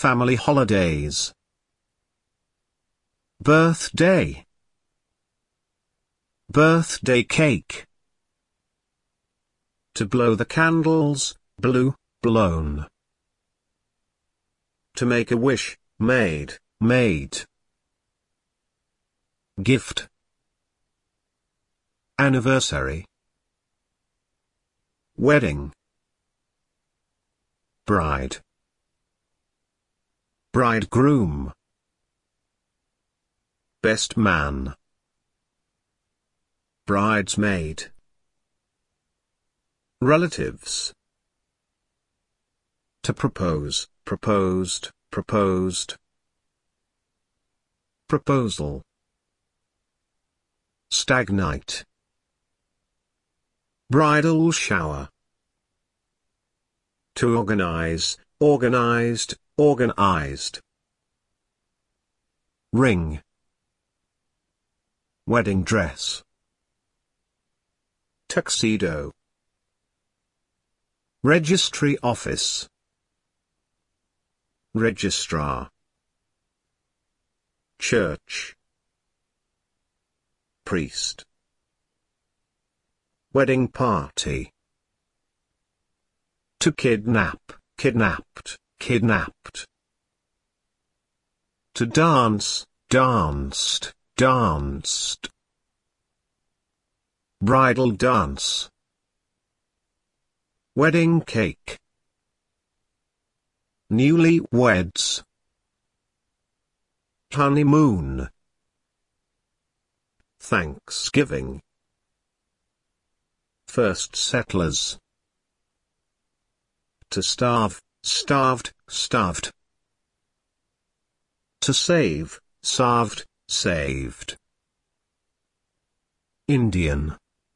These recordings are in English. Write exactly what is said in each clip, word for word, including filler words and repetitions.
family holidays. Birthday, birthday cake. To blow the candles, blew, blown. To make a wish, made, made. Gift, anniversary. Wedding, bride, bridegroom. Best man, bridesmaid. Relatives. To propose, proposed, proposed. Proposal. Stagnite. Bridal shower. To organize, organized, organized. Ring. Wedding dress. Tuxedo. Registry office. Registrar. Church. Priest. Wedding party. To kidnap, kidnapped, kidnapped. To dance, danced, danced. Bridal dance. Wedding cake. Newlyweds. Honeymoon. Thanksgiving. First settlers. To starve, starved, starved. To save, saved, saved. Indian.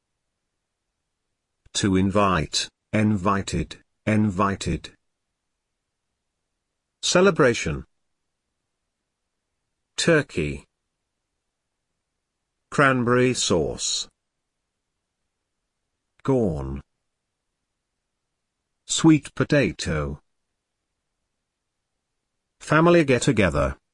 To invite, invited, invited. Celebration. Turkey. Cranberry sauce. Corn. Sweet potato. Family get-together.